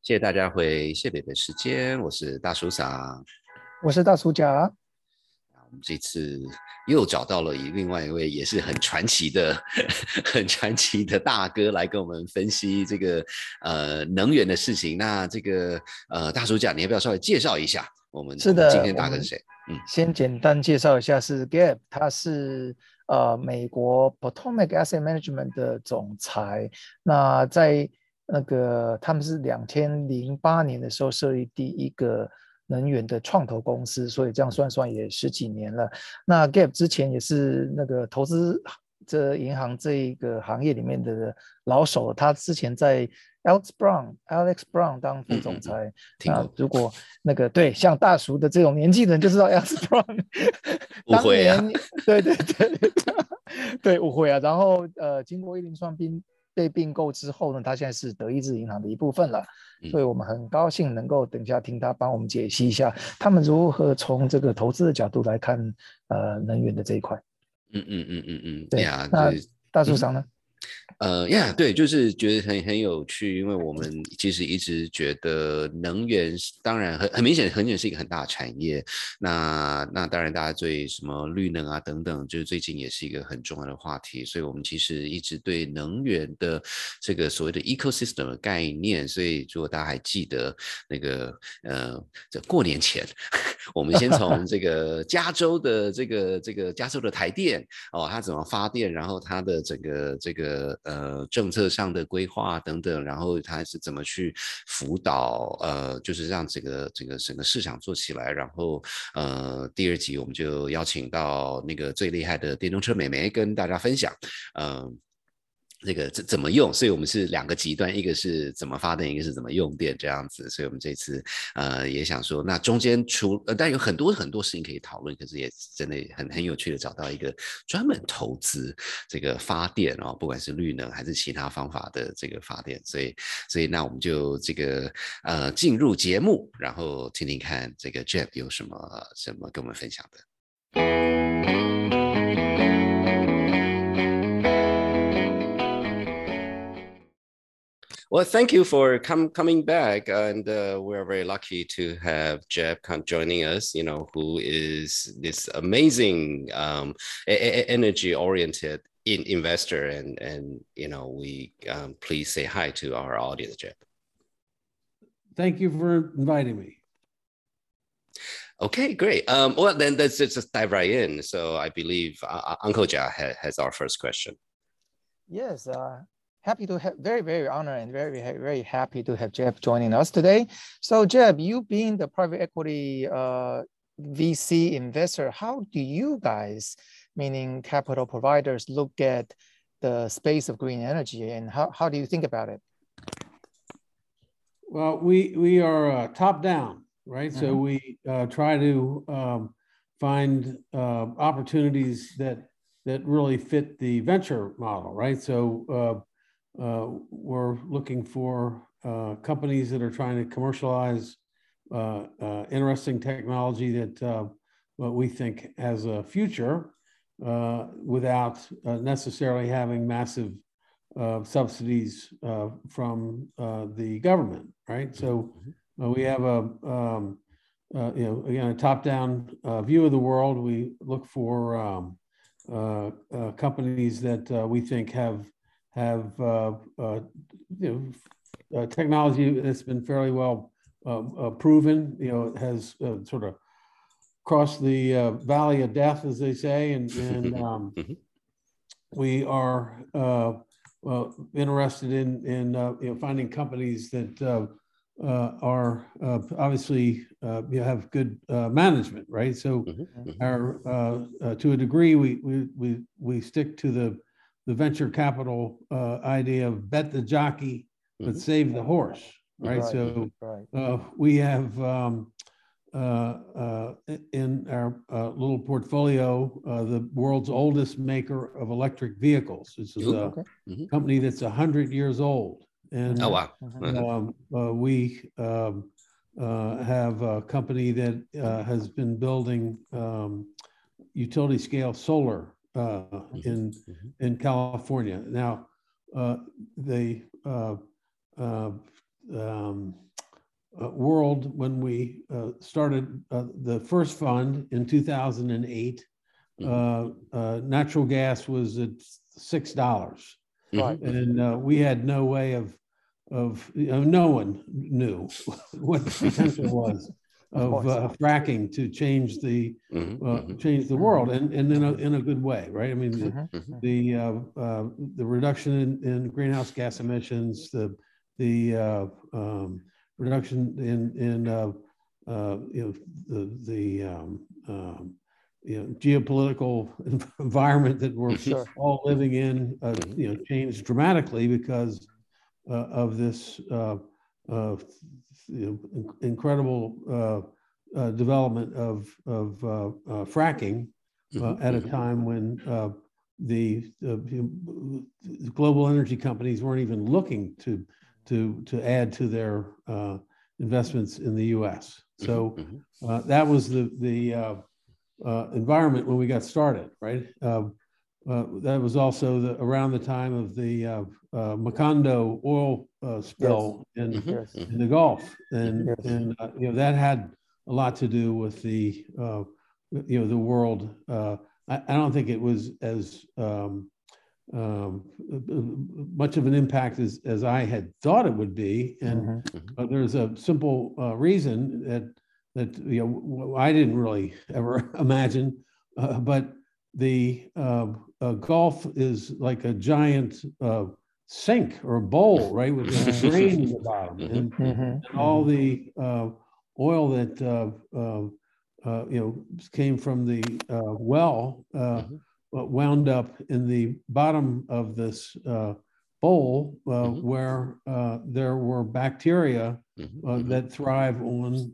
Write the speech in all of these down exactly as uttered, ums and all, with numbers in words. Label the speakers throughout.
Speaker 1: 谢谢大家回谢北的时间，我是大叔嫂。
Speaker 2: 我是大叔甲。
Speaker 1: 我们这次又找到了另外一位也是很传奇的、很传奇的大哥来跟我们分析这个呃能源的事情。那这个呃大叔甲，你要不要稍微介绍一下我们
Speaker 2: 是的，
Speaker 1: 我们今天
Speaker 2: 我们
Speaker 1: 大哥是谁？嗯，
Speaker 2: 先简单介绍一下，是 Gabe，他是呃美国 Potomac Asset Management 的总裁。那在那个他们是两千零八年的时候设立第一个能源的创投公司，所以这样算算也十几年了。那 Gabe 之前也是那个投资这银行这一个行业里面的老手，他之前在 Alex Brown Alex Brown 当副总裁。
Speaker 1: 嗯嗯嗯，听过。
Speaker 2: 那如果那个对像大叔的这种年纪的人就知道 Alex Brown 当
Speaker 1: 误会啊。
Speaker 2: 年对对对对误会啊。然后呃，经过一零创并被并购之后呢，他现在是德意志银行的一部分了。所以我们很高兴能够等一下听他帮我们解析一下他们如何从这个投资的角度来看呃能源的这一块。
Speaker 1: 嗯嗯嗯嗯嗯，
Speaker 2: 对，
Speaker 1: 呀，
Speaker 2: 那
Speaker 1: 就是
Speaker 2: 大叔长呢？
Speaker 1: 呃呀，对，就是觉得很很有趣，因为我们其实一直觉得能源当然很很明显，能源是一个很大的产业。那那当然，大家对什么绿能啊等等，就是最近也是一个很重要的话题。所以我们其实一直对能源的这个所谓的 ecosystem 的概念，所以如果大家还记得那个呃，在过年前，我们先从这个加州的这个这个加州的台电哦，它怎么发电，然后它的整个这个呃政策上的规划等等，然后它是怎么去辅导呃，就是让整个整个整个市场做起来。然后呃，第二集我们就邀请到那个最厉害的电动车美眉跟大家分享，嗯、呃。这个怎怎么用？所以我们是两个极端，一个是怎么发电，一个是怎么用电这样子。所以我们这次呃也想说，那中间除呃，但有很多很多事情可以讨论，可是也真的很很有趣的找到一个专门投资这个发电哦，不管是绿能还是其他方法的这个发电。所以所以那我们就这个呃进入节目，然后听听看这个 Jeff 有什么什么跟我们分享的。Well, thank you for com- coming back, and uh, we're very lucky to have Jeb joining us. You know, who is this amazing um, energy-oriented in- investor, and and you know, we um, please say hi to our audience, Jeb.
Speaker 3: Thank you for inviting me.
Speaker 1: Okay, great. Um, well, then let's just dive right in. So I believe uh, Uncle Jia ha- has our first question.
Speaker 2: Yes, uh, happy to have, very, very honored and very, very happy to have Jeb joining us today. So Jeb, you being the private equity uh, V C investor, how do you guys, meaning capital providers, look at the space of green energy, and how, how do you think about it?
Speaker 3: Well, we we are uh, top down, right? Mm-hmm. So we uh, try to um, find uh, opportunities that that really fit the venture model, right? So uh, uh, we're looking for uh, companies that are trying to commercialize uh, uh, interesting technology that uh, what we think has a future uh, without uh, necessarily having massive uh, subsidies uh, from uh, the government, right? So uh, we have a um, uh, you know again a top-down uh, view of the world. We look for um, Uh, uh, companies that uh, we think have have uh, uh, you know uh, technology that's been fairly well uh, uh, proven. You know, it has uh, sort of crossed the uh, valley of death, as they say, and and um, we are uh, well, interested in in uh, you know finding companies that uh, uh, are uh, obviously uh, you have good uh, management, right? So, mm-hmm. our uh, uh, to a degree, we we we we stick to the the venture capital uh, idea of bet the jockey but mm-hmm. save the horse, right? right. So right. Uh, we have um, uh, uh, in our uh, little portfolio uh, the world's oldest maker of electric vehicles. This is Ooh, a okay. mm-hmm. company that's a hundred years old. And
Speaker 1: oh, wow.
Speaker 3: um, uh, we um, uh, have a company that uh, has been building um, utility scale solar uh, mm-hmm. in mm-hmm. in California. Now, uh, they uh, uh, um, uh, world when we uh, started uh, the first fund in two thousand eight. Uh, uh, natural gas was at six dollars,
Speaker 2: Right.
Speaker 3: and uh, we had no way of of you know, no one knew what the potential was of uh, fracking to change the uh, change the world, and and in a in a good way, right? I mean, the
Speaker 2: Mhm.
Speaker 3: the, uh, uh, the reduction in, in greenhouse gas emissions, the the uh, um, reduction in in uh, uh, you know the the um, um, you know geopolitical environment that we're
Speaker 2: Sure.
Speaker 3: all living in, uh, you know, changed dramatically because uh, of this uh, uh, you know, incredible uh, uh, development of of uh, uh, fracking uh, at a time when uh, the, uh, the global energy companies weren't even looking to to to add to their uh, investments in the U S. So uh, that was the the uh, uh, environment when we got started, right? Uh, uh, that was also the, around the time of the uh, uh, Macondo oil uh, spill
Speaker 2: Yes.
Speaker 3: in,
Speaker 2: Yes.
Speaker 3: in the Gulf, and
Speaker 2: Yes.
Speaker 3: and uh, you know that had a lot to do with the uh, you know the world. Uh, I, I don't think it was as um, um, much of an impact as as I had thought it would be, and
Speaker 2: Mhm.
Speaker 3: uh, there's a simple uh, reason that that you know I didn't really ever imagine, uh, but the uh, uh, Gulf is like a giant uh, sink or a bowl, right, with a drain in the bottom, and,
Speaker 2: Mhm.
Speaker 3: and all the uh, oil that uh, uh, uh, you know came from the uh, well uh, wound up in the bottom of this uh, bowl, uh, where uh, there were bacteria uh, that thrive on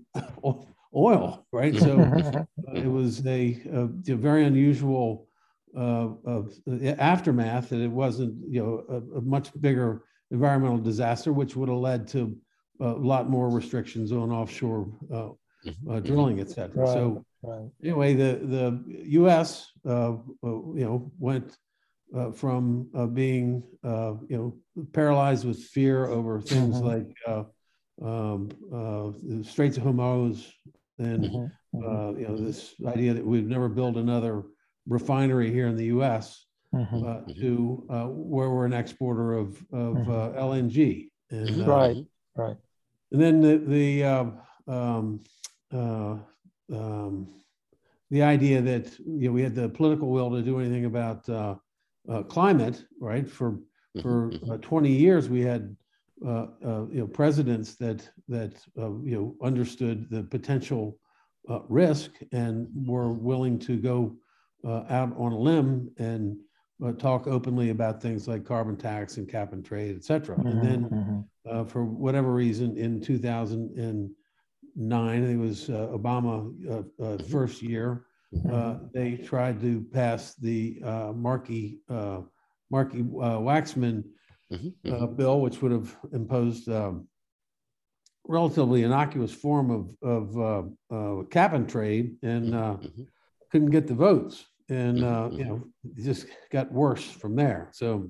Speaker 3: oil, right? So uh, it was a, a, a very unusual uh, uh, aftermath, that it wasn't, you know, a, a much bigger environmental disaster, which would have led to a lot more restrictions on offshore uh, uh, drilling, et cetera.
Speaker 2: Right.
Speaker 3: So
Speaker 2: Right.
Speaker 3: anyway, the the U S uh, uh, you know went uh, from uh, being uh, you know paralyzed with fear over things
Speaker 2: Mhm.
Speaker 3: like uh, um, uh, the Straits of Hormuz, and
Speaker 2: Mhm. Mhm.
Speaker 3: uh, you know this idea that we'd never build another refinery here in the U S
Speaker 2: Mhm.
Speaker 3: uh, to uh, where we're an exporter of of
Speaker 2: Mhm.
Speaker 3: uh, L N G, and uh,
Speaker 2: Right. Right.
Speaker 3: and then the the uh, um, uh, um, the idea that you know we had the political will to do anything about uh, uh, climate, right? For for uh, twenty years, we had uh, uh, you know presidents that that uh, you know understood the potential uh, risk and were willing to go uh, out on a limb and uh, talk openly about things like carbon tax and cap and trade, et cetera.
Speaker 2: Mhm.
Speaker 3: And then,
Speaker 2: Mhm.
Speaker 3: uh, for whatever reason, in two thousand nine, it was uh, Obama uh, uh, first year, uh, they tried to pass the uh, Markey uh, Markey uh, Waxman uh, bill, which would have imposed um, relatively innocuous form of of uh, uh, cap and trade, and uh, couldn't get the votes, and uh, you know it just got worse from there. So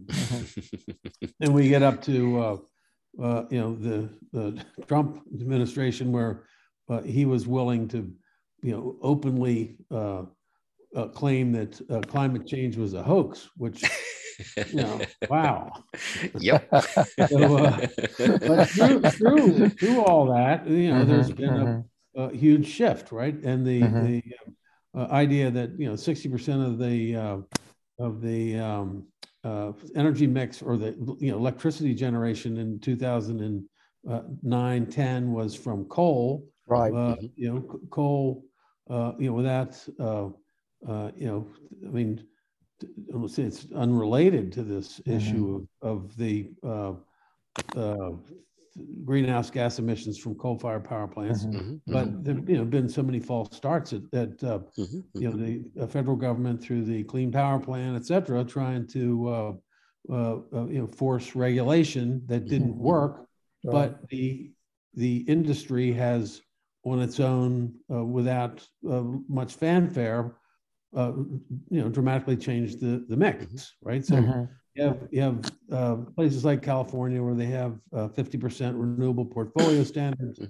Speaker 3: then we get up to uh, uh, you know the the Trump administration, where uh, he was willing to you know openly uh, uh, claim that uh, climate change was a hoax, which you know, wow.
Speaker 1: Yep.
Speaker 3: So, uh, but through through through all that, you know,
Speaker 2: Mhm.
Speaker 3: there's been
Speaker 2: Mhm.
Speaker 3: a, a huge shift, right? And the
Speaker 2: Mhm.
Speaker 3: the uh, idea that you know sixty percent of the uh, of the um, uh, energy mix, or the you know electricity generation in two thousand nine ten was from coal.
Speaker 2: Right.
Speaker 3: Uh, you know, c- coal. Uh, you know, without uh, uh, you know, I mean, almost it's unrelated to this
Speaker 2: Mhm.
Speaker 3: issue of, of the uh, uh, greenhouse gas emissions from coal-fired power plants.
Speaker 2: Mhm.
Speaker 3: But there've you know been so many false starts that, that uh, you know the uh, federal government through the Clean Power Plan, et cetera, trying to uh, uh, uh, you know force regulation that didn't work.
Speaker 2: Right.
Speaker 3: But the the industry has on its own, uh, without uh, much fanfare, uh, you know, dramatically changed the the mix, right? So
Speaker 2: Mhm.
Speaker 3: you have you have uh, places like California where they have uh, fifty percent renewable portfolio standards.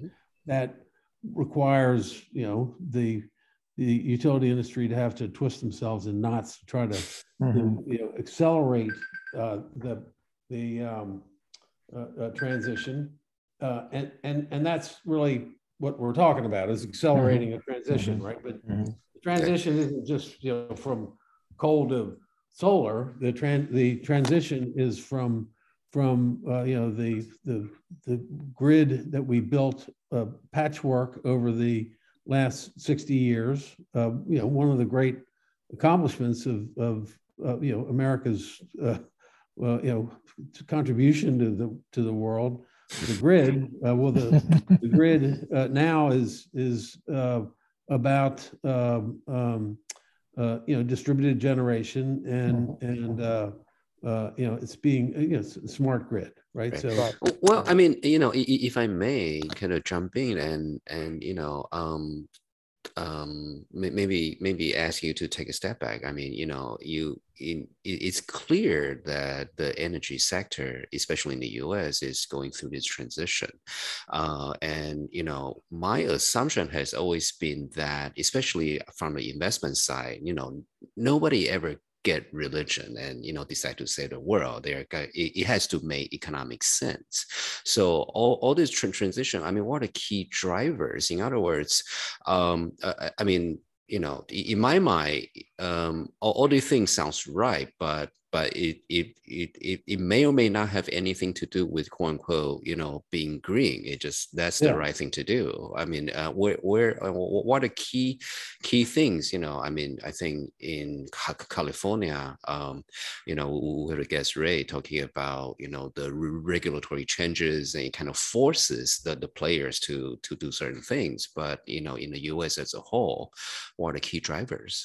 Speaker 3: that requires, you know, the the utility industry to have to twist themselves in knots to try to, mm-hmm. to, you know, accelerate uh, the the um, uh, uh, transition, uh, and and and that's really what we're talking about, is accelerating mm-hmm. a transition, mm-hmm. right? But mm-hmm. the transition isn't just, you know, from coal to solar. The tran the transition is from from uh, you know, the the the grid that we built, uh, patchwork over the last sixty years. Uh, you know, one of the great accomplishments of of uh, you know, America's uh, uh, you know, contribution to the to the world, the grid. Uh, well, the the grid uh, now is is uh, about um, um, uh, you know, distributed generation, and and uh, uh, you know, it's being, you know, it's a smart grid, right?
Speaker 1: Right.
Speaker 3: So,
Speaker 1: well, I mean, you know, if I may kind of jump in and and you know, um, um, maybe maybe ask you to take a step back. I mean, you know, you in, it's clear that the energy sector, especially in the U S, is going through this transition, uh, and you know, my assumption has always been that, especially from the investment side, you know, nobody ever get religion and, you know, decide to save the world. There, it, it has to make economic sense. So all, all this transition, I mean, what are the key drivers? In other words, um, uh, I mean, you know, in my mind, um, all, all these things sounds right, but but it, it it it it may or may not have anything to do with, quote unquote, you know, being green. It just, that's the yeah. right thing to do. I mean, uh, where where uh, what are key key things? You know, I mean, I think in California, um, you know, we heard guest Ray talking about, you know, the regulatory changes, and it kind of forces the the players to to do certain things. But you know, in the U S as a whole, what are the key drivers?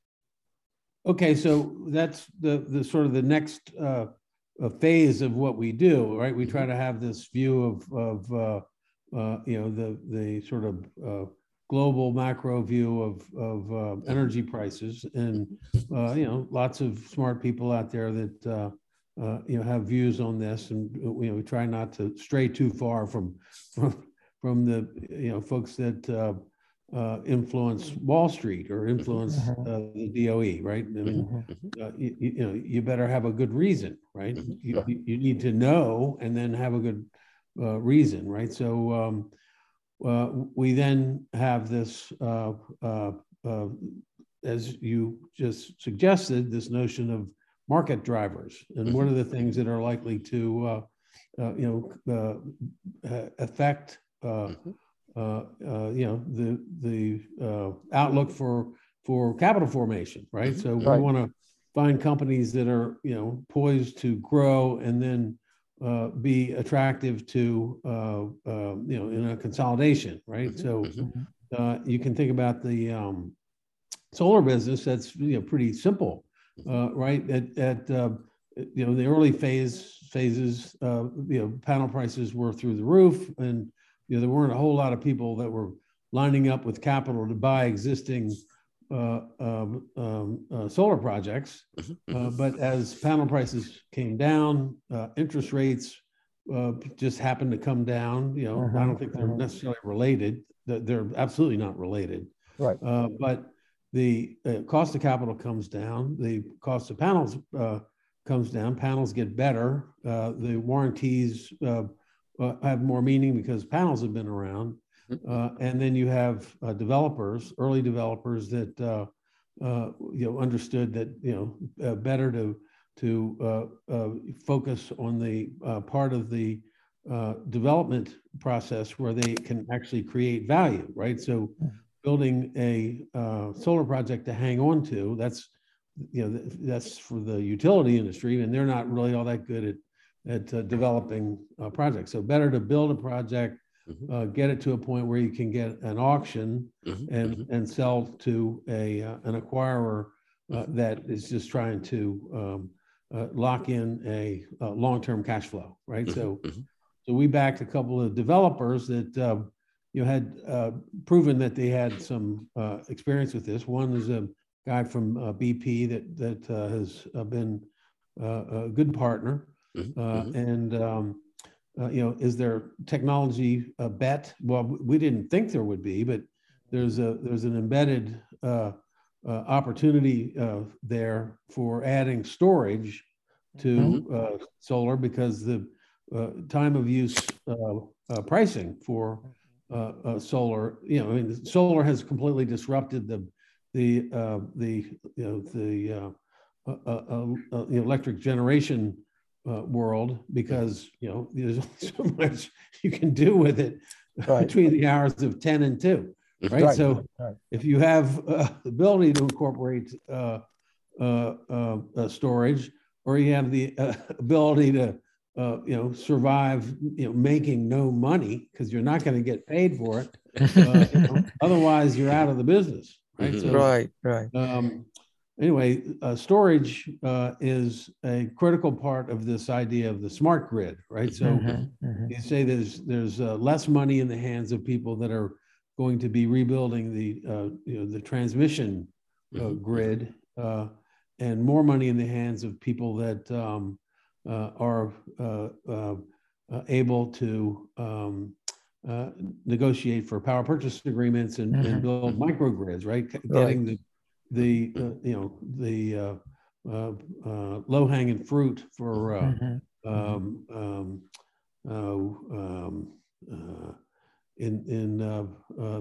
Speaker 3: Okay, so that's the the sort of the next uh, phase of what we do, right? We try to have this view of of uh, uh, you know, the the sort of uh, global macro view of of uh, energy prices, and uh, you know, lots of smart people out there that uh, uh, you know, have views on this, and you know, we try not to stray too far from from from the, you know, folks that Uh, Uh, influence Wall Street or influence uh, the D O E, right? I mean, uh, you, you know, you better have a good reason, right? You, you need to know and then have a good uh, reason, right? So um, uh, we then have this, uh, uh, uh, as you just suggested, this notion of market drivers, and what are the things that are likely to, uh, uh, you know, uh, affect Uh, Uh, uh, you know, the the uh, outlook for for capital formation, right? So we right. want to find companies that are, you know, poised to grow and then uh, be attractive to uh, uh, you know, in a consolidation, right? So uh, you can think about the um, solar business. That's, you know, pretty simple, uh, right? At at uh, you know, the early phase phases, uh, you know, panel prices were through the roof, and you know, there weren't a whole lot of people that were lining up with capital to buy existing uh, um, um, uh, solar projects. Uh, but as panel prices came down, uh, interest rates uh, just happened to come down. You know, uh-huh. I don't think they're uh-huh. necessarily related. They're absolutely not related.
Speaker 2: Right.
Speaker 3: Uh, but the uh, cost of capital comes down. The cost of panels uh, comes down. Panels get better. Uh, the warranties Uh, Uh, have more meaning because panels have been around, uh, and then you have uh, developers, early developers that uh, uh, you know, understood that, you know, uh, better to to uh, uh, focus on the uh, part of the uh, development process where they can actually create value, right? So building a uh, solar project to hang on to, that's, you know, that's for the utility industry, and they're not really all that good at at uh, developing uh, projects. So better to build a project, uh, get it to a point where you can get an auction and and sell to a uh, an acquirer uh, that is just trying to um, uh, lock in a, a long-term cash flow, right? So so we backed a couple of developers that uh, you know, had uh, proven that they had some uh, experience with this. One is a guy from uh, B P that that uh, has uh, been uh, a good partner. Uh, and um, uh, you know, is there technology uh, bet? Well, we didn't think there would be, but there's a there's an embedded uh, uh, opportunity uh, there for adding storage to uh, solar, because the uh, time of use uh, uh, pricing for uh, uh, solar, you know, I mean, solar has completely disrupted the the uh, the you know the uh, uh, uh, uh, the electric generation uh, world, because you know there's so much you can do with it
Speaker 2: Right.
Speaker 3: between the hours of ten and two, right?
Speaker 2: Right.
Speaker 3: So
Speaker 2: Right.
Speaker 3: if you have uh, the ability to incorporate uh, uh, uh, uh, storage, or you have the uh, ability to uh, you know survive, you know, making no money because you're not going to get paid for it. Uh, you know, otherwise, you're out of the business, right?
Speaker 1: Mhm.
Speaker 3: So,
Speaker 2: Right. Right.
Speaker 3: um, anyway, uh, storage uh, is a critical part of this idea of the smart grid, right? So
Speaker 2: Mhm, mhm.
Speaker 3: you say there's there's uh, less money in the hands of people that are going to be rebuilding the uh, you know the transmission uh,
Speaker 1: Mhm.
Speaker 3: grid, uh, and more money in the hands of people that um, uh, are uh, uh, uh, able to um, uh, negotiate for power purchase agreements and,
Speaker 2: Mhm.
Speaker 3: and build microgrids, right? C-
Speaker 2: Right.
Speaker 3: Getting the the uh, you know the uh, uh, uh, low hanging fruit for uh,
Speaker 2: Mhm.
Speaker 3: um, um, uh, um, uh, in in uh, uh,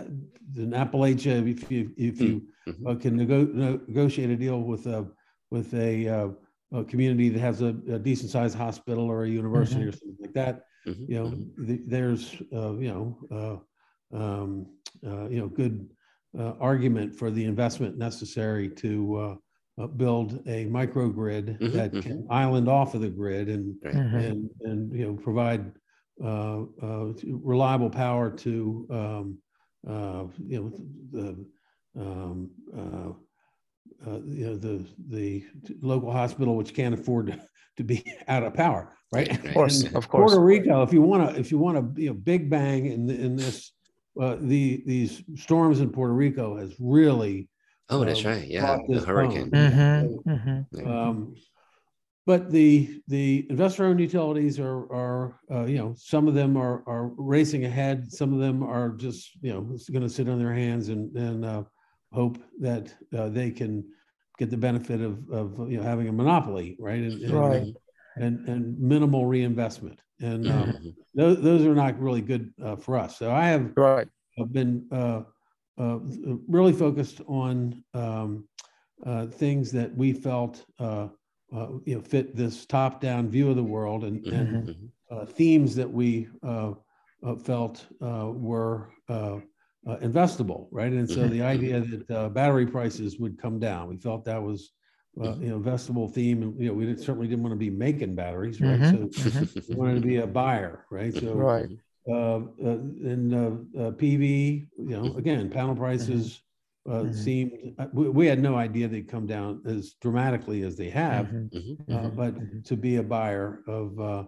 Speaker 3: in Appalachia, if you if you
Speaker 1: Mhm.
Speaker 3: uh, can nego negotiate a deal with a with a, uh, a community that has a, a decent sized hospital or a university
Speaker 2: Mhm.
Speaker 3: or something like that,
Speaker 1: Mhm.
Speaker 3: you know,
Speaker 1: Mhm.
Speaker 3: the, there's uh, you know uh, um, uh, you know good uh, argument for the investment necessary to uh, uh, build a microgrid
Speaker 1: Mhm.
Speaker 3: that
Speaker 1: Mhm.
Speaker 3: can island off of the grid and
Speaker 1: Right.
Speaker 2: Mhm.
Speaker 3: and and you know provide uh, uh, reliable power to um, uh, you know the um, uh, uh, you know the the local hospital which can't afford to, to be out of power, right?
Speaker 1: Right, right.
Speaker 2: Of course.
Speaker 3: And
Speaker 2: Of course.
Speaker 3: Puerto Rico, if you want to if you want to you know big bang in in this uh, the these storms in Puerto Rico has really
Speaker 1: Oh, that's
Speaker 3: uh,
Speaker 1: right. Yeah,
Speaker 3: brought
Speaker 1: the
Speaker 3: this
Speaker 1: hurricane.
Speaker 3: home.
Speaker 2: Mhm. Mhm.
Speaker 1: Yeah.
Speaker 3: Um, but the the investor-owned utilities are are uh, you know some of them are are racing ahead. Some of them are just you know going to sit on their hands and and uh, hope that uh, they can get the benefit of of you know having a monopoly, right? And and
Speaker 2: Right.
Speaker 3: uh, and, and minimal reinvestment. And um,
Speaker 1: Mhm.
Speaker 3: those those are not really good uh, for us. So I have
Speaker 2: Right.
Speaker 3: I've been uh, uh, really focused on um, uh, things that we felt uh, uh, you know fit this top-down view of the world, and
Speaker 1: Mhm.
Speaker 3: and
Speaker 1: Mhm.
Speaker 3: uh, themes that we uh, uh, felt uh, were uh, uh, investable, right? And so
Speaker 1: Mhm.
Speaker 3: the idea that uh, battery prices would come down, we felt that was uh,
Speaker 1: Mhm.
Speaker 3: you know investable theme, and you know we didn't, certainly didn't want to be making batteries, right?
Speaker 2: Mhm.
Speaker 3: So
Speaker 2: Mhm.
Speaker 3: we wanted to be a buyer, right? So
Speaker 2: Right.
Speaker 3: uh, uh, in uh, uh, P V, you know,
Speaker 1: Mhm.
Speaker 3: again, panel prices uh,
Speaker 2: Mhm.
Speaker 3: seemed, uh, we, we had no idea they'd come down as dramatically as they have,
Speaker 2: Mhm.
Speaker 1: Mhm.
Speaker 3: uh,
Speaker 1: Mhm.
Speaker 3: but
Speaker 2: Mhm.
Speaker 3: to be a buyer of uh,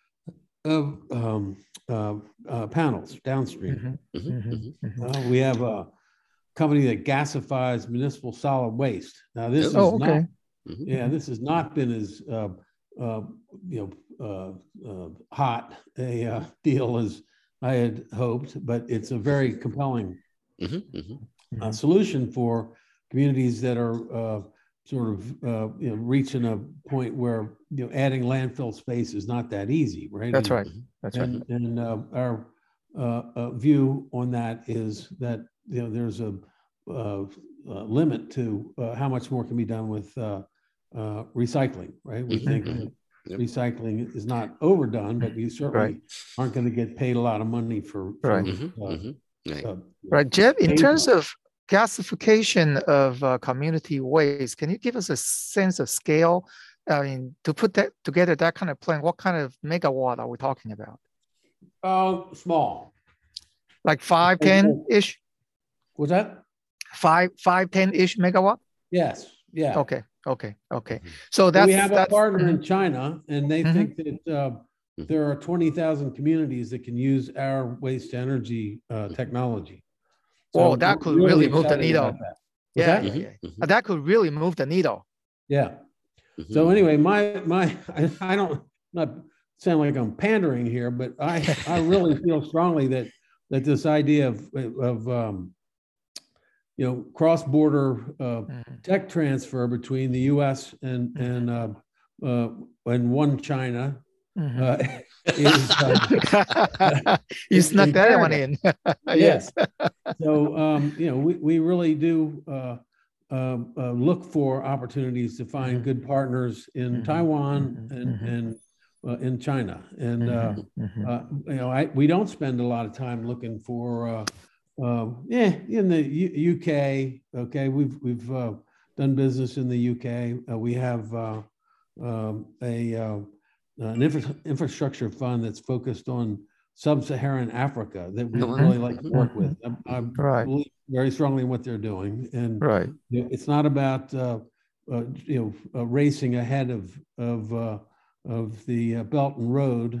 Speaker 3: of um, uh, uh, panels downstream.
Speaker 2: Mhm.
Speaker 1: Mhm.
Speaker 2: Mhm.
Speaker 1: Mhm.
Speaker 2: Mhm.
Speaker 3: Uh, we have a company that gasifies municipal solid waste. Now, this
Speaker 1: Oh.
Speaker 3: is
Speaker 2: Oh,
Speaker 3: not,
Speaker 2: okay.
Speaker 1: Mhm.
Speaker 3: yeah, this has not been as uh, uh, you know uh, uh, hot a uh, deal as I had hoped, but it's a very compelling
Speaker 1: Mhm. Mhm.
Speaker 3: uh,
Speaker 2: Mhm.
Speaker 3: solution for communities that are uh, sort of uh, you know reaching a point where you know adding landfill space is not that easy, right?
Speaker 2: That's
Speaker 3: And
Speaker 2: right. That's right.
Speaker 3: and and uh, our uh, uh, view on that is that you know there's a, uh uh limit to uh, how much more can be done with uh, uh, recycling, right? We
Speaker 1: Mhm.
Speaker 3: think
Speaker 2: Mhm.
Speaker 3: that
Speaker 1: Yep.
Speaker 3: recycling is not overdone, but you certainly
Speaker 2: Right.
Speaker 3: aren't going to get paid a lot of money for for
Speaker 2: Right.
Speaker 1: Mhm.
Speaker 3: uh,
Speaker 1: Mhm. Right.
Speaker 3: uh,
Speaker 2: Right. Jeff, in
Speaker 3: paid
Speaker 2: terms
Speaker 3: for.
Speaker 2: of gasification of uh, community waste, can you give us a sense of scale? I mean, to put that together, that kind of plant, what kind of megawatt are we talking about?
Speaker 3: Uh, small.
Speaker 2: Like five, ten ish?
Speaker 3: Was that?
Speaker 2: Five, five, ten ish megawatt?
Speaker 3: Yes. Yeah.
Speaker 2: Okay. Okay. Okay.
Speaker 1: Mhm.
Speaker 2: So
Speaker 3: Well,
Speaker 2: that's
Speaker 3: we have a
Speaker 2: that's
Speaker 3: partner
Speaker 2: mhm,
Speaker 3: in China, and they
Speaker 2: mhm.
Speaker 3: think that uh, there are twenty thousand communities that can use our waste to energy uh, technology. So
Speaker 2: Whoa, that
Speaker 3: we're
Speaker 2: could
Speaker 3: really
Speaker 2: really move the
Speaker 3: excited
Speaker 2: needle.
Speaker 3: about that. What's
Speaker 2: Yeah,
Speaker 3: that?
Speaker 2: yeah,
Speaker 1: Mhm.
Speaker 2: yeah.
Speaker 1: Mhm.
Speaker 2: That could really move the needle.
Speaker 3: Yeah.
Speaker 1: Mhm.
Speaker 3: So anyway, my my I, I don't not sound like I'm pandering here, but I, I really feel strongly that that this idea of of um, you know, cross-border uh, mm-hmm. tech transfer between the U S and mm-hmm. and uh, uh, and one China mm-hmm. uh, is uh,
Speaker 2: you snuck that one in.
Speaker 3: Yes. So um, you know, we we really do uh, uh, uh, look for opportunities to find mm-hmm. good partners in mm-hmm. Taiwan mm-hmm. and mm-hmm. and uh, in China, and uh, mm-hmm. uh, you know, I we don't spend a lot of time looking for. Uh, Uh, yeah, in the U- UK, okay, we've we've uh, done business in the U K. Uh, we have uh, um, a uh, an infra- infrastructure fund that's focused on sub-Saharan Africa that we mm-hmm. really like to work with. I, I right. believe very strongly in what they're doing, and
Speaker 2: right.
Speaker 3: you know, it's not about uh, uh, you know uh, racing ahead of of uh, of the uh, Belt and Road.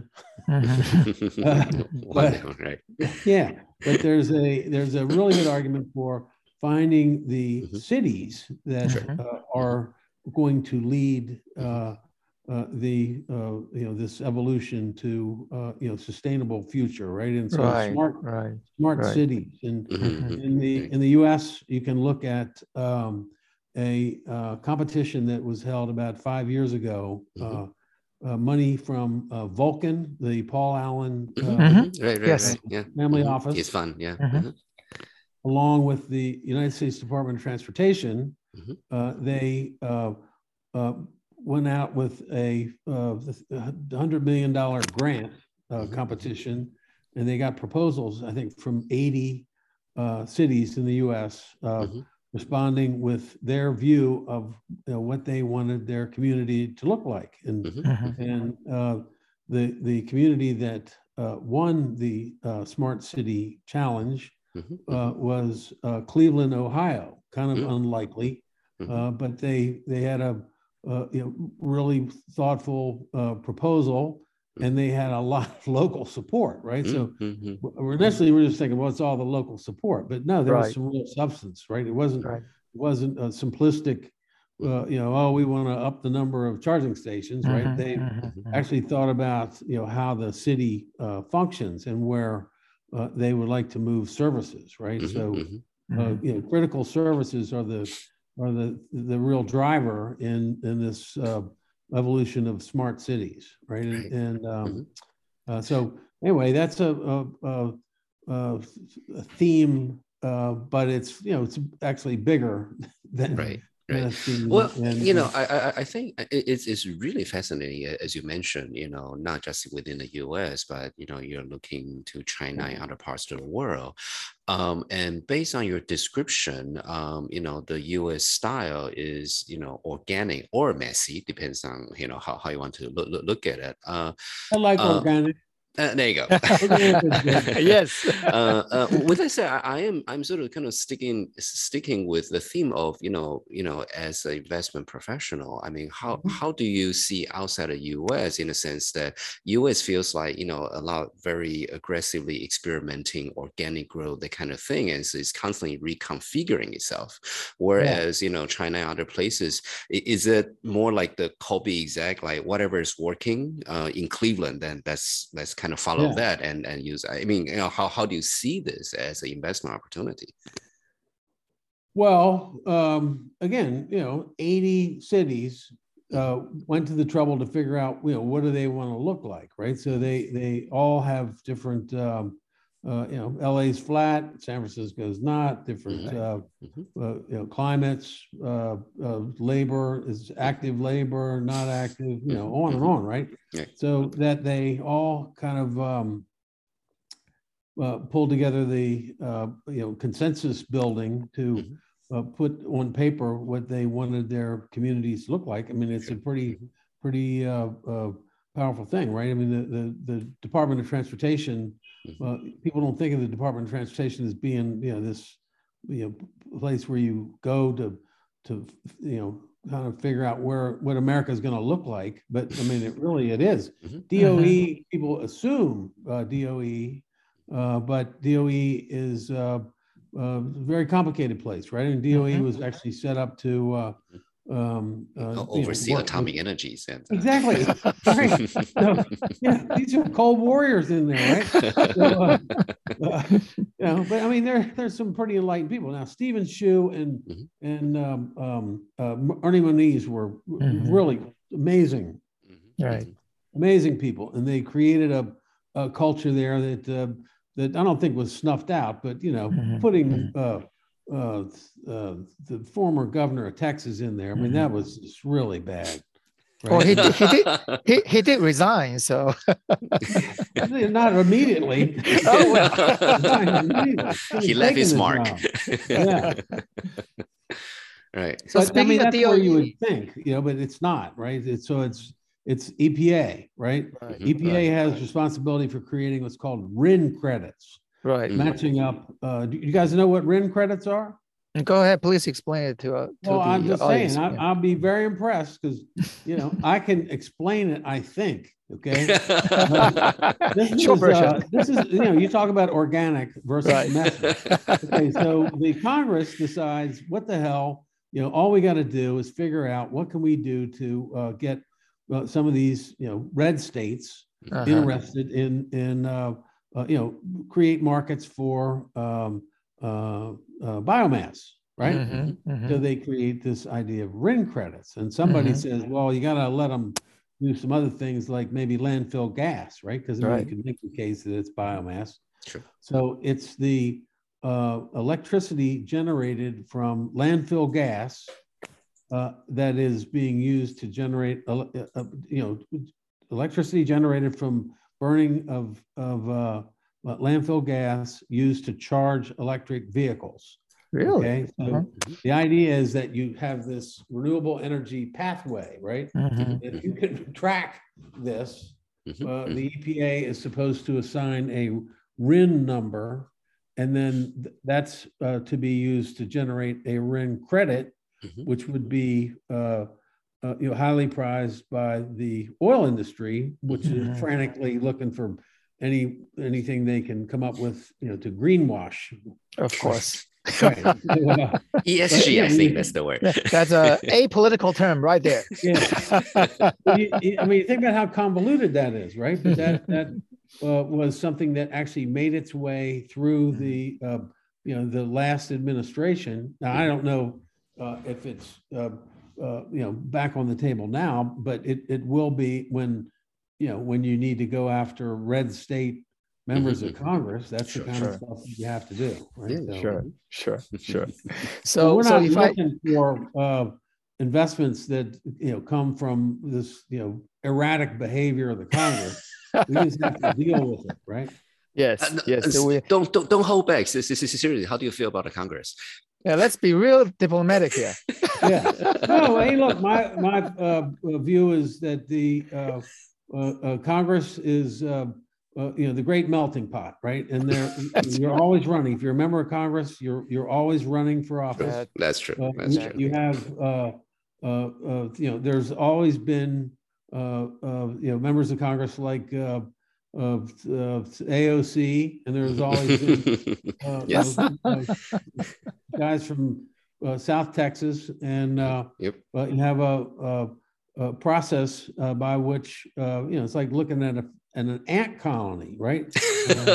Speaker 1: Mm-hmm.
Speaker 3: uh, but,
Speaker 1: right.
Speaker 3: Yeah. But there's a there's a really good argument for finding the mm-hmm. cities that uh, are going to lead uh, uh, the uh, you know this evolution to uh, you know sustainable future, right? And so
Speaker 2: right,
Speaker 3: smart
Speaker 2: right,
Speaker 3: smart
Speaker 2: right.
Speaker 3: cities. And
Speaker 1: mm-hmm.
Speaker 3: in the in the U S, you can look at um, a uh, competition that was held about five years ago. Mm-hmm. Uh, Uh, money from uh, Vulcan, the Paul Allen uh,
Speaker 1: mm-hmm. right, right,
Speaker 2: yes.
Speaker 1: right. Yeah.
Speaker 3: family
Speaker 1: mm-hmm.
Speaker 3: office.
Speaker 1: It's fun, yeah.
Speaker 2: Mm-hmm.
Speaker 1: Mm-hmm.
Speaker 3: Along with the United States Department of Transportation,
Speaker 1: mm-hmm.
Speaker 3: uh, they uh, uh, went out with a uh, one hundred million dollars grant uh, mm-hmm. competition, and they got proposals, I think, from eighty uh, cities in the U S uh, mm-hmm. responding with their view of you know, what they wanted their community to look like. And,
Speaker 2: mm-hmm.
Speaker 3: and uh, the, the community that uh, won the uh, Smart City Challenge
Speaker 1: mm-hmm.
Speaker 3: uh, was uh, Cleveland, Ohio. Kind of
Speaker 1: mm-hmm.
Speaker 3: unlikely,
Speaker 1: mm-hmm.
Speaker 3: uh, but they, they had a uh, you know, really thoughtful uh, proposal. And they had a lot of local support, right?
Speaker 1: Mm-hmm.
Speaker 3: So initially we were just thinking, well, it's all the local support, but no, there
Speaker 2: right.
Speaker 3: was some real substance, right? It wasn't
Speaker 2: right.
Speaker 3: it wasn't a simplistic, uh, you know, oh, we want to up the number of charging stations, right?
Speaker 2: Mm-hmm.
Speaker 3: They
Speaker 2: mm-hmm.
Speaker 3: actually thought about, you know, how the city uh, functions and where uh, they would like to move services, right?
Speaker 1: Mm-hmm.
Speaker 3: So,
Speaker 1: mm-hmm.
Speaker 3: uh, you know, critical services are the are the the real driver in in this. Uh, evolution of smart cities, right? And,
Speaker 1: right.
Speaker 3: and um,
Speaker 1: mm-hmm.
Speaker 3: uh, so anyway, that's a, a, a, a theme, uh, but it's you know it's actually bigger than
Speaker 1: right.
Speaker 3: Right.
Speaker 1: Well, and, you know, I, I I think it's it's really fascinating, as you mentioned. You know, not just within the U S, but you know, you're looking to China and other parts of the world. Um, and based on your description, um, you know, the U S style is you know organic or messy, depends on you know how, how you want to look look, look at it. Uh,
Speaker 3: I like
Speaker 1: uh,
Speaker 3: organic.
Speaker 1: Uh, there you go.
Speaker 2: Yes.
Speaker 1: uh, uh, with that said, I, I am I'm sort of kind of sticking sticking with the theme of you know you know as an investment professional. I mean, how mm-hmm. how do you see outside of U S in a sense that U S feels like you know a lot very aggressively experimenting organic growth, that kind of thing, and so it's constantly reconfiguring itself. Whereas yeah. you know China and other places, is it more like the copy exact, like whatever is working uh, in Cleveland, then that's that's kind of follow yeah. that and and use. I mean, you know, how how do you see this as an investment opportunity?
Speaker 3: Well, um, again, you know, eighty cities uh, went to the trouble to figure out, you know, what do they want to look like, right? So they they all have different, um, uh, you know, L A's flat, San Francisco's not, different,
Speaker 1: right.
Speaker 3: uh,
Speaker 1: mm-hmm.
Speaker 3: uh, you know, climates, uh, uh, labor is active labor, not active, you know, on and on, right?
Speaker 1: right.
Speaker 3: So that they all kind of um, uh, pulled together the, uh, you know, consensus building to mm-hmm. Uh, put on paper what they wanted their communities to look like. I mean, it's a pretty, pretty uh, uh, powerful thing, right? I mean, the the, the Department of Transportation, uh, people don't think of the Department of Transportation as being, you know, this, you know, place where you go to, to, you know, kind of figure out where what America is going to look like. But I mean, it really it is. Mm-hmm. D O E, mm-hmm. people assume uh, D O E, uh, but D O E is. Uh, Uh, very complicated place, right? And D O E mm-hmm. was actually set up to uh, um, uh,
Speaker 1: oversee
Speaker 3: you know,
Speaker 1: atomic
Speaker 3: with,
Speaker 1: energy center.
Speaker 3: Exactly. Right. So, yeah, these are cold warriors in there, right? So, uh, uh, you know, but I mean, there there's some pretty enlightened people now. Stephen Shu and mm-hmm. and um, um, uh, Ernie Moniz were mm-hmm. really amazing,
Speaker 2: mm-hmm. right?
Speaker 3: Amazing people, and they created a, a culture there that uh, that I don't think was snuffed out, but you know, mm-hmm. putting uh, uh, uh, the former governor of Texas in there. I mean, mm-hmm. that was just really bad.
Speaker 2: Right? Well, he did, he did he, he did resign, so
Speaker 3: not immediately.
Speaker 2: Oh well,
Speaker 1: he left his mark.
Speaker 3: Yeah.
Speaker 1: Right.
Speaker 3: So but, I mean, that's D O E, where you would think, you know, but it's not, right? It's, so it's it's E P A, right? right. E P A right. has responsibility for creating what's called R I N credits.
Speaker 2: Right.
Speaker 3: Matching up. Uh, do you guys know what R I N credits are?
Speaker 2: Go ahead, please explain it to, uh, to
Speaker 3: well,
Speaker 2: the
Speaker 3: I'm just
Speaker 2: audience.
Speaker 3: saying, I, I'll be very impressed because, you know, I can explain it, I think, okay? Uh, this, is, uh, this is, you know, you talk about organic versus right. messy. Okay, so the Congress decides, what the hell, you know, all we got to do is figure out what can we do to uh, get uh, some of these, you know, red states uh-huh. interested in, in uh, uh, you know, create markets for um, Uh, uh, biomass, right? Mm-hmm, mm-hmm. So they create this idea of R I N credits, and somebody mm-hmm. says, "Well, you got to let them do some other things like maybe landfill gas, right? Because right. you can make the case that it's biomass."
Speaker 1: Sure.
Speaker 3: So it's the uh, electricity generated from landfill gas uh, that is being used to generate, uh, uh, you know, electricity generated from burning of of uh, Uh, landfill gas used to charge electric vehicles.
Speaker 2: Really?
Speaker 3: Okay. So uh-huh. the idea is that you have this renewable energy pathway, right?
Speaker 2: Uh-huh.
Speaker 3: If you can track this, uh, the E P A is supposed to assign a R I N number, and then th- that's uh, to be used to generate a R I N credit, uh-huh. which would be uh, uh, you know, highly prized by the oil industry, which uh-huh. is frantically looking for any anything they can come up with, you know, to greenwash.
Speaker 2: Of course.
Speaker 3: Right.
Speaker 1: E S G, I think that's the word.
Speaker 2: That's a apolitical term right there.
Speaker 3: Yeah. you, you, I mean, think about how convoluted that is, right? But that that uh, was something that actually made its way through the uh, you know the last administration. Now I don't know uh, if it's uh, uh, you know back on the table now, but it it will be when. You know, when you need to go after red state members mm-hmm. of Congress, that's sure, the kind
Speaker 2: sure.
Speaker 3: of stuff you have to do. Right?
Speaker 2: Yeah,
Speaker 3: so,
Speaker 2: sure, sure, sure. So,
Speaker 3: well, we're
Speaker 2: so
Speaker 3: not
Speaker 2: if
Speaker 3: looking
Speaker 2: I...
Speaker 3: for uh, investments that, you know, come from this, you know, erratic behavior of the Congress. We just have to deal with it, right?
Speaker 2: Yes, uh, yes.
Speaker 1: So we... Don't, don't, don't hold back. Seriously, how do you feel about the Congress?
Speaker 2: Yeah, let's be real diplomatic here.
Speaker 3: Yeah. No, hey, look, my, my uh, view is that the, uh, Uh, uh, Congress is, uh, uh, you know, the great melting pot, right? And they're you're
Speaker 2: right.
Speaker 3: always running. If you're a member of Congress, you're you're always running for office.
Speaker 1: That, that's true.
Speaker 3: Uh,
Speaker 1: that's
Speaker 3: you,
Speaker 1: true.
Speaker 3: You have, uh, uh, uh, you know, there's always been, uh, uh, you know, members of Congress like uh, uh, A O C, and there's always been uh,
Speaker 1: yes.
Speaker 3: uh, guys from uh, South Texas, and uh,
Speaker 1: yep.
Speaker 3: uh, you have a. a Uh, process uh, by which uh, you know it's like looking at a at an ant colony, right? Uh,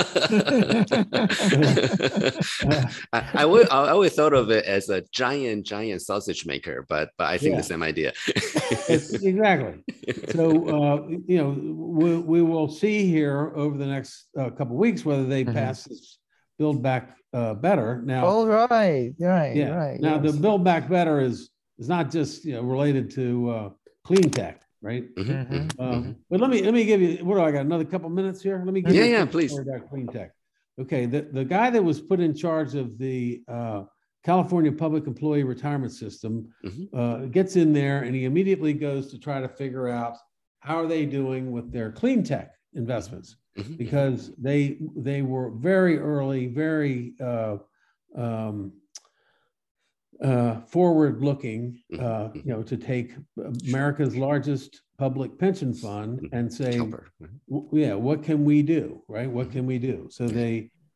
Speaker 1: I, I would I always thought of it as a giant giant sausage maker, but but I think yeah. the same idea.
Speaker 3: Exactly. So uh, you know we we will see here over the next uh, couple of weeks whether they mm-hmm. pass this Build Back uh, Better. Now,
Speaker 2: all right, right,
Speaker 3: yeah.
Speaker 2: right.
Speaker 3: Now
Speaker 2: yes.
Speaker 3: the Build Back Better is is not just you know related to uh, clean tech, right?
Speaker 2: Mm-hmm.
Speaker 3: Um, but let me let me give you. What do I got? Another couple minutes here. Let me give
Speaker 1: yeah,
Speaker 3: you
Speaker 1: yeah, please.
Speaker 3: About clean tech. Okay, the the guy that was put in charge of the uh, California Public Employee Retirement System mm-hmm. uh, gets in there and he immediately goes to try to figure out how are they doing with their clean tech investments mm-hmm. because they they were very early, very. Uh, um, Uh, forward-looking, uh, you know, to take America's largest public pension fund and say, w- yeah, what can we do, right? What can we do? So they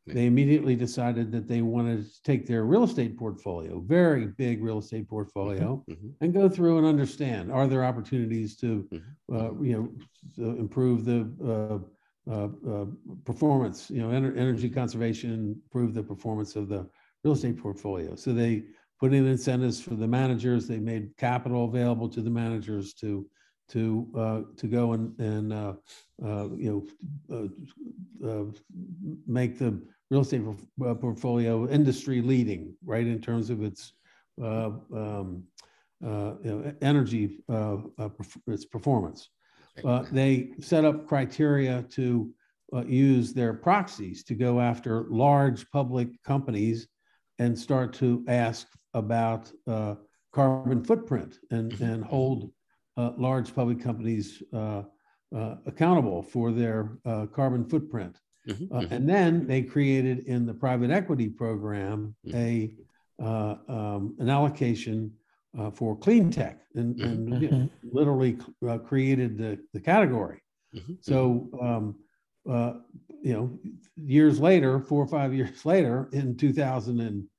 Speaker 3: they immediately decided that they wanted to take their real estate portfolio, very big real estate portfolio,
Speaker 1: mm-hmm.
Speaker 3: and go through and understand, are there opportunities to,
Speaker 1: Mm-hmm.
Speaker 3: uh, you know, to improve the uh, uh, uh, performance, you know, ener- energy conservation, improve the performance of the real estate portfolio. So they put in incentives for the managers. They made capital available to the managers to to uh, to go and and uh, uh, you know uh, uh, make the real estate portfolio industry leading, right, in terms of its uh, um, uh, you know, energy uh, uh, its performance. Uh, they set up criteria to uh, use their proxies to go after large public companies and start to ask about uh, carbon footprint and and hold Uh, large public companies uh, uh, accountable for their uh, carbon footprint.
Speaker 1: Mm-hmm,
Speaker 3: uh,
Speaker 1: mm-hmm.
Speaker 3: And then they created in the private equity program
Speaker 1: Mm-hmm.
Speaker 3: a uh, um, an allocation uh, for clean tech, and,
Speaker 1: Mm-hmm.
Speaker 3: and you know, literally uh, created the, the category.
Speaker 1: Mm-hmm.
Speaker 3: So, um, uh, you know, years later, four or five years later, in two thousand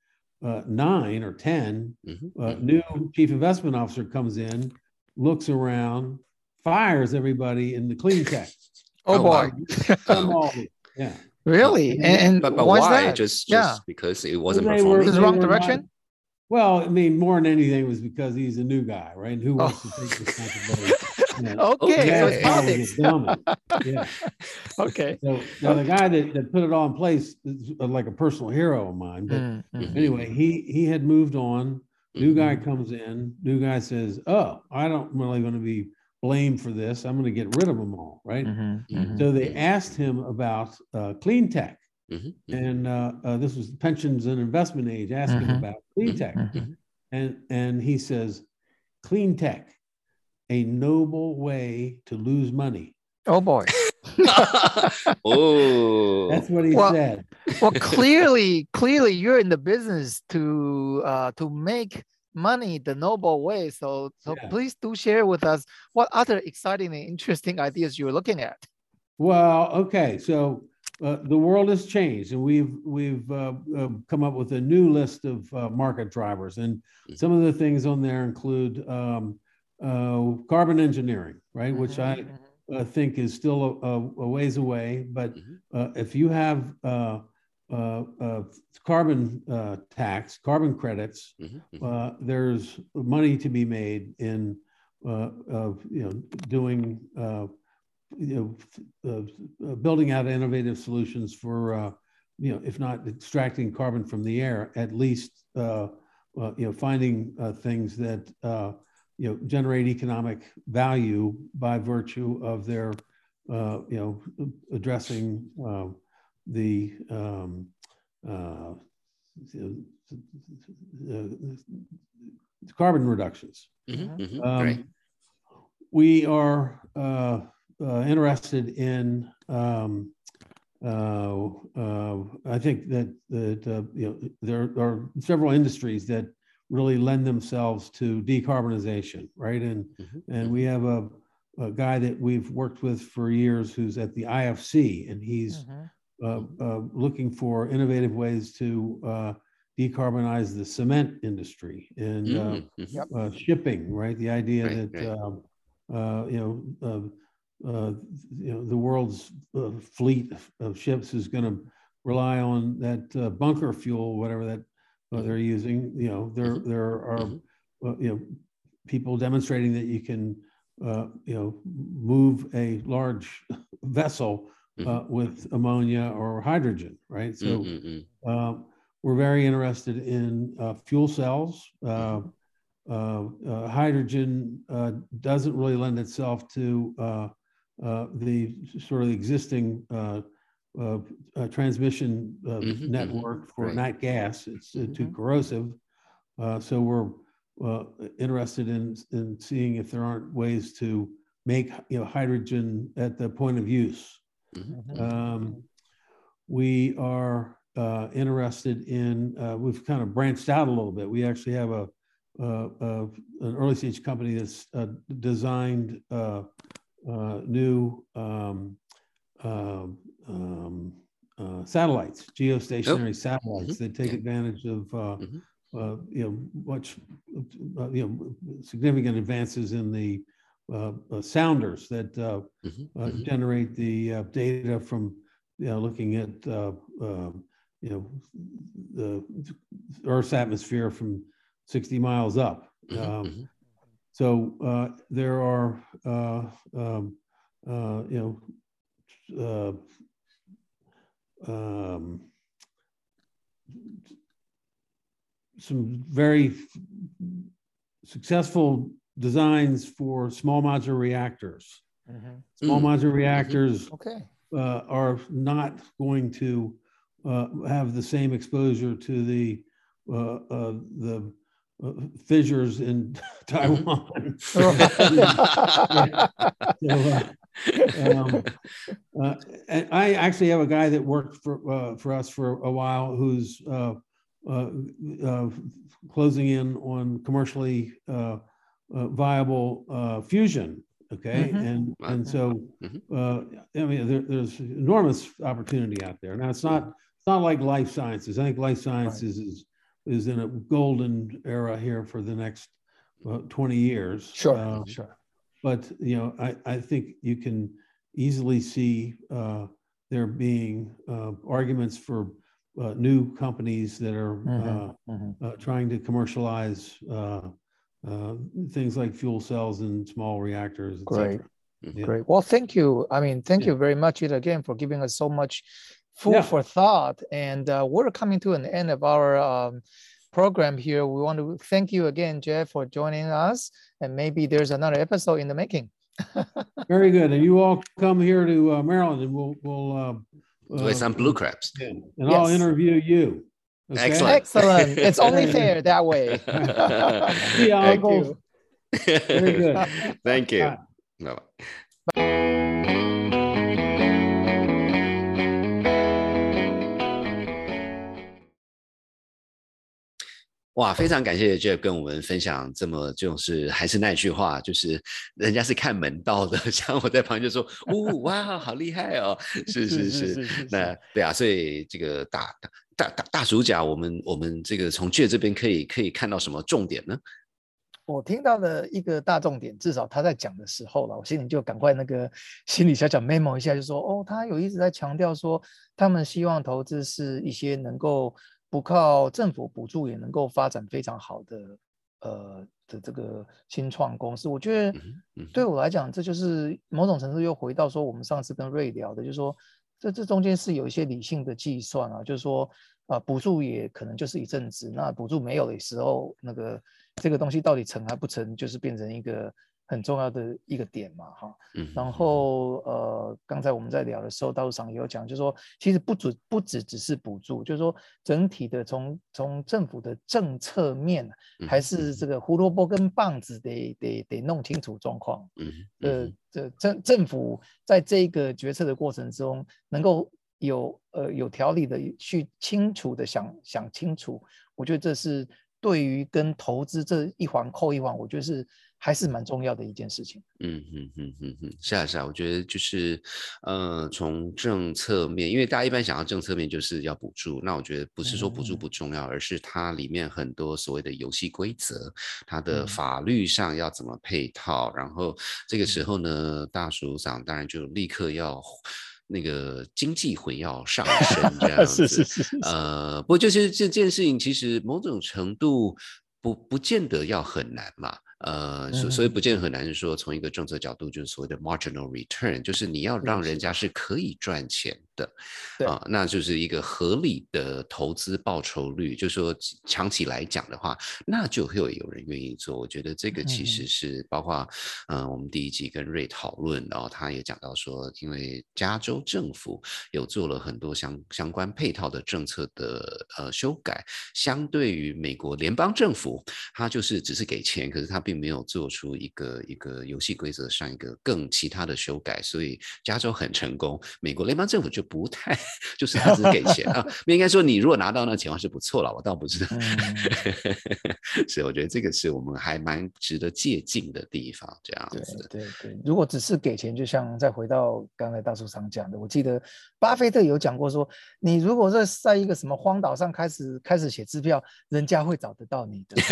Speaker 3: nine or ten,
Speaker 1: Mm-hmm.
Speaker 3: uh, new chief investment officer comes in, looks around, fires everybody in the clean tech.
Speaker 2: Oh,
Speaker 1: Oh,
Speaker 2: boy.
Speaker 3: Wow. all the, yeah.
Speaker 2: Really?
Speaker 3: And,
Speaker 2: And, and
Speaker 1: But, but
Speaker 2: why's
Speaker 1: why?
Speaker 2: that?
Speaker 1: Just
Speaker 2: Yeah.
Speaker 1: just because it wasn't
Speaker 3: They
Speaker 1: performing?
Speaker 3: were-
Speaker 2: It was
Speaker 3: they
Speaker 2: wrong
Speaker 3: were
Speaker 2: direction?
Speaker 3: not- well, I mean, more than anything, it was because he's a new guy, right? And who wants
Speaker 2: Oh.
Speaker 3: to take responsibility? You know,
Speaker 2: Okay,
Speaker 3: the
Speaker 2: so
Speaker 3: last
Speaker 2: it's
Speaker 3: guy was a
Speaker 2: politics.
Speaker 3: dummy. Yeah.
Speaker 2: Okay.
Speaker 3: So now the guy that, that put it all in place is like a personal hero of mine. But
Speaker 2: Mm, mm.
Speaker 3: anyway, he he had moved on. New
Speaker 1: Mhm.
Speaker 3: guy comes in. New guy says, "Oh, I don't really want to be blamed for this. I'm going to get rid of them all." Right.
Speaker 2: Mhm, mhm.
Speaker 3: So they asked him about uh, clean tech,
Speaker 1: Mhm.
Speaker 3: and uh, uh, this was pensions and investment age. Asked him
Speaker 2: Mhm.
Speaker 3: about clean
Speaker 1: Mhm.
Speaker 3: tech,
Speaker 2: Mhm.
Speaker 3: and and he says, "Clean tech, a noble way to lose money."
Speaker 2: Oh, boy.
Speaker 1: Oh.
Speaker 3: That's what he
Speaker 2: Well-
Speaker 3: said.
Speaker 2: Well, clearly, clearly you're in the business to uh, to make money the noble way. So, so
Speaker 3: Yeah.
Speaker 2: please do share with us what other exciting and interesting ideas you're looking at.
Speaker 3: Well, okay, so uh, the world has changed, and we've we've uh, uh, come up with a new list of uh, market drivers, and some of the things on there include um, uh, carbon engineering, right? Which I uh, think is still a, a ways away, but
Speaker 1: Mhm.
Speaker 3: uh, if you have uh, uh, uh, carbon uh, tax, carbon credits,
Speaker 1: Mhm. Mhm.
Speaker 3: uh, there's money to be made in uh, of you know doing. Uh, you know, uh, uh, building out innovative solutions for, uh, you know, if not extracting carbon from the air, at least, uh, uh, you know, finding uh, things that, uh, you know, generate economic value by virtue of their, uh, you know, addressing uh, the um, uh, uh, carbon reductions.
Speaker 1: Mhm. Mhm.
Speaker 3: Um,
Speaker 1: Right.
Speaker 3: We are uh, uh, interested in. Um, uh, uh, I think that that uh, you know there are several industries that really lend themselves to decarbonization, right? And
Speaker 1: Mhm.
Speaker 3: and we have a, a guy that we've worked with for years who's at the I F C, and he's uh, uh, looking for innovative ways to uh, decarbonize the cement industry and uh,
Speaker 1: Mhm. Mhm.
Speaker 3: uh, shipping, right? The idea
Speaker 1: Right,
Speaker 3: that
Speaker 1: right.
Speaker 3: um, uh, you know, uh, uh, you know, the world's uh, fleet of, of ships is going to rely on that uh, bunker fuel, whatever that uh, they're using. You know, there
Speaker 1: Mhm.
Speaker 3: there are
Speaker 1: Mhm.
Speaker 3: uh, you know people demonstrating that you can uh, you know move a large vessel uh,
Speaker 1: Mhm.
Speaker 3: with ammonia or hydrogen, right? So
Speaker 1: Mm, mm, mm.
Speaker 3: uh, we're very interested in uh, fuel cells. Uh,
Speaker 1: Mhm.
Speaker 3: uh, uh, hydrogen uh, doesn't really lend itself to uh, uh, the sort of existing uh, uh, uh, transmission uh,
Speaker 1: Mhm, mhm.
Speaker 3: network for
Speaker 1: Right.
Speaker 3: nat gas. It's uh, too
Speaker 2: Mhm.
Speaker 3: corrosive. Uh, so we're uh, interested in, in seeing if there aren't ways to make you know hydrogen at the point of use.
Speaker 1: Mhm.
Speaker 3: Um, we are uh, interested in, uh, we've kind of branched out a little bit. We actually have a, uh, uh, an early stage company that's uh, designed uh, uh, new um, um, um, uh, satellites, geostationary
Speaker 1: oh.
Speaker 3: satellites
Speaker 1: mm-hmm.
Speaker 3: that take
Speaker 1: yeah.
Speaker 3: advantage of uh,
Speaker 1: mm-hmm.
Speaker 3: uh, you know much uh, you know significant advances in the uh, uh, sounders that uh,
Speaker 1: mm-hmm.
Speaker 3: uh,
Speaker 1: Mm-hmm.
Speaker 3: generate the uh, data from you know looking at uh, uh, you know the Earth's atmosphere from sixty miles up.
Speaker 1: Mm-hmm.
Speaker 3: Um,
Speaker 1: mm-hmm.
Speaker 3: So uh, there are uh, um, uh, you know uh, um, some very successful designs for small modular reactors. Mm-hmm. Small mm. modular reactors
Speaker 2: mm-hmm. okay.
Speaker 3: uh, are not going to uh, have the same exposure to the uh, uh, the uh, fissures in Taiwan. Mm-hmm. so, uh, um, uh, and I actually have a guy that worked for uh, for us for a while who's uh, uh, uh, closing in on commercially uh, uh, viable uh, fusion. Okay, mm-hmm. and wow. and so mm-hmm. uh, I mean there, there's enormous opportunity out there. Now it's not it's not like life sciences. I think life sciences right. is is in a golden era here for the next uh, twenty years.
Speaker 2: Sure,
Speaker 3: uh,
Speaker 2: sure.
Speaker 3: But you know, I I think you can easily see uh, there being uh, arguments for uh, new companies that are mm-hmm. Uh, mm-hmm. uh, trying to commercialize uh, uh, things like fuel cells and small reactors, et
Speaker 2: Great.
Speaker 3: cetera. Yeah.
Speaker 2: Great. Well, thank you. I mean, thank yeah. you very much, Ida, again, for giving us so much food yeah. for thought. And uh, we're coming to an end of our um, program here. We want to thank you again, Jeff, for joining us. And maybe there's another episode in the making.
Speaker 3: Very good. And you all come here to uh, Maryland, and we'll we'll uh,
Speaker 1: with some blue crabs,
Speaker 3: yeah. and yes. I'll interview you.
Speaker 1: Okay? Excellent.
Speaker 2: Excellent. It's only fair that way.
Speaker 3: Yeah,
Speaker 2: thank you.
Speaker 3: Very good.
Speaker 1: Thank you.
Speaker 3: Bye.
Speaker 1: Bye.哇，非常感谢 Jeff 跟我们分享这么，就是还是那句话，就是人家是看门道的，像我在旁边就说，哦，哇，好厉害哦，是是 是, 是, 是, 是，那对啊，所以这个大大大大主角，我们我们这个从 Jeff 这边可以可以看到什么重点呢？
Speaker 2: 我听到的一个大重点，至少他在讲的时候了，我心里就赶快那个心里小小 memo 一下，就说哦，他有一直在强调说，他们希望投资是一些能够不靠政府补助也能够发展非常好的呃的这个新创公司。我觉得对我来讲，这就是某种程度又回到说我们上次跟瑞聊的，就是说这这中间是有一些理性的计算啊，就是说啊、呃、补助也可能就是一阵子，那补助没有的时候，那个这个东西到底成还不成，就是变成一个很重要的一个点嘛，哈。然后呃，刚才我们在聊的时候，道路上也有讲，就是说其实不只不只只是补助，就是说整体的从从政府的政策面，还是这个胡萝卜跟棒子得得得弄清楚状况。嗯，呃，这政政府在这个决策的过程中，能够有呃有条理的去清楚的想想清楚，我觉得这是对于跟投资这一环扣一环，我觉得是还是蛮重要的一件事情。
Speaker 1: 嗯嗯嗯嗯嗯，是啊是啊，我觉得就是呃从政策面，因为大家一般想到政策面就是要补助，那我觉得不是说补助不重要，嗯、而是它里面很多所谓的游戏规则，它的法律上要怎么配套，然后这个时候呢，大署长当然就立刻要。那个经济魂要上升这样子，
Speaker 2: 是是是是
Speaker 1: 呃，不过就是这件事情，其实某种程度不不见得要很难嘛。呃，所所以不见得很难，是说从一个政策角度，就是所谓的 marginal return， 就是你要让人家是可以赚钱的，啊、呃，那就是一个合理的投资报酬率，就是说长期来讲的话，那就会有人愿意做。我觉得这个其实是包括，嗯、呃，我们第一集跟瑞讨论，然后他也讲到说，因为加州政府有做了很多相相关配套的政策的呃修改，相对于美国联邦政府，他就是只是给钱，可是他并没有做出一个一个游戏规则上一个更其他的修改，所以加州很成功，美国联邦政府就不太，就是他只是给钱啊。应该说你如果拿到那钱是不错了，我倒不知道。嗯、所以我觉得这个是我们还蛮值得借鉴的地方，这样子。
Speaker 2: 对对对，如果只是给钱，就像再回到刚才大叔常讲的，我记得巴菲特有讲过说，你如果是在一个什么荒岛上开始开始写支票，人家会找得到你的。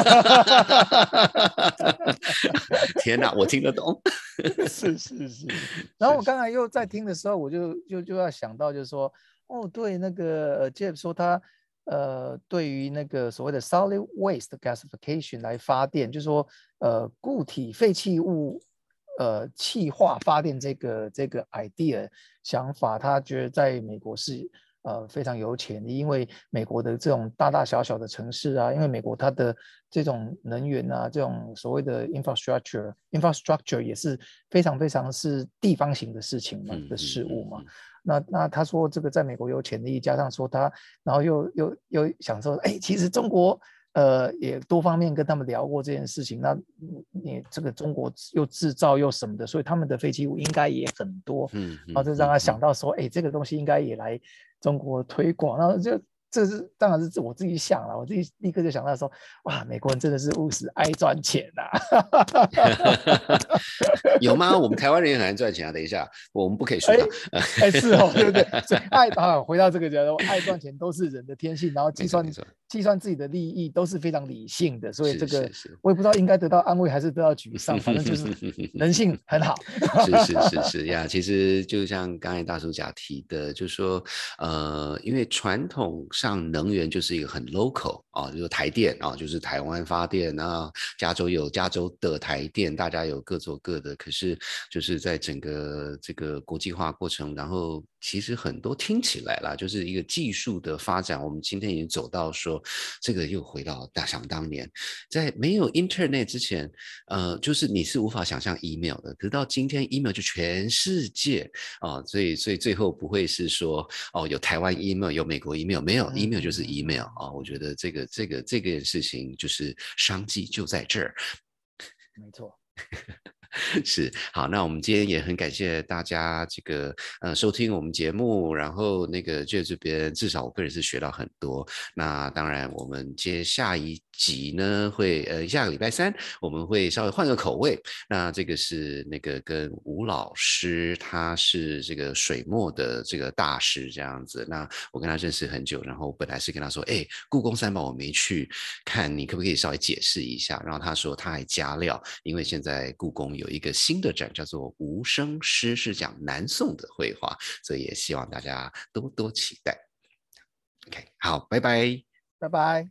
Speaker 1: 天哪，我听得懂。
Speaker 2: 是是是。然后我刚才又在听的时候，我就就就要想到，就是说，哦，对，那个 Jeff 说他呃，对于那个所谓的 solid waste gasification 来发电，就是说，呃，固体废弃物呃气化发电这个这个 idea 想法，他觉得在美国是呃非常有潜力，因为美国的这种大大小小的城市啊，因为美国它的这种能源啊，这种所谓的 infrastructure infrastructure 也是非常非常是地方型的事情嘛、嗯、的事物嘛。嗯嗯嗯那那他说这个在美国有潜力，加上说他，然后又又又想说，哎，其实中国呃也多方面跟他们聊过这件事情，那你这个中国又制造又什么的，所以他们的废弃物应该也很多，嗯，然后就让他想到说，哎，这个东西应该也来中国推广，然后就。这是当然是我自己想了，我自己立刻就想到说，哇，美国人真的是务实，爱赚钱啊！
Speaker 1: 有吗？我们台湾人也很爱赚钱啊。等一下，我们不可以说他。
Speaker 2: 哎、欸欸，是哦，对不对？所以爱啊，回到这个讲，爱赚钱都是人的天性，然后计算计算自己的利益都是非常理性的，所以这个我也不知道应该得到安慰还是得到沮丧，反正就是人性很好。
Speaker 1: 是是是是呀，其实就像刚才大叔甲提的，就是说，呃，因为传统上能源就是一个很 local 啊，就是台电啊，就是台湾发电啊，加州有加州的台电，大家有各做各的。可是就是在整个这个国际化过程，然后其实很多听起来啦，就是一个技术的发展。我们今天已经走到说，这个又回到大想当年，在没有 Internet 之前，呃，就是你是无法想象 email 的。可是到今天 email 就全世界啊、呃，所以所以最后不会是说哦有台湾 email 有美国 email， 没有 email 就是 email 啊、呃。我觉得这个这个这个事情就是商机就在这儿。
Speaker 2: 没错。
Speaker 1: 是，好，那我们今天也很感谢大家这个呃收听我们节目，然后那个就这边至少我个人是学到很多。那当然我们接下一集呢会呃下个礼拜三我们会稍微换个口味，那这个是那个跟吴老师，他是这个水墨的这个大师这样子。那我跟他认识很久，然后本来是跟他说，哎，故宫三宝我没去看，你可不可以稍微解释一下？然后他说他还加料，因为现在故宫有一个新的展叫做无声诗，是讲南宋的绘画，所以也希望大家多多期待。OK， 好，拜拜，
Speaker 2: 拜拜。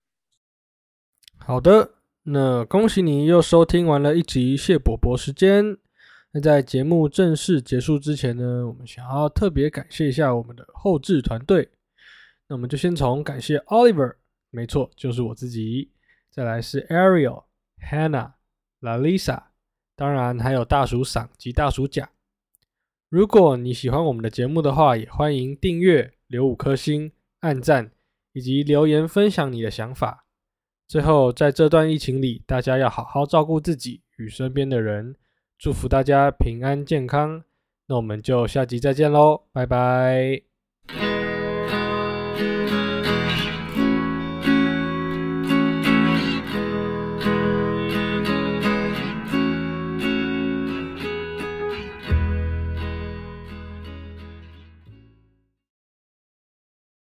Speaker 4: 好的，那恭喜你又收听完了一集谢伯伯时间。那在节目正式结束之前呢，我们想要特别感谢一下我们的后制团队。那我们就先从感谢 Oliver， 没错，就是我自己。再来是 Ariel、Hannah、Lalisa， 当然还有大叔赏及大叔甲。如果你喜欢我们的节目的话，也欢迎订阅、留五颗星、按赞，以及留言分享你的想法。最后，在这段疫情里，大家要好好照顾自己与身边的人，祝福大家平安健康。那我们就下集再见咯，拜拜。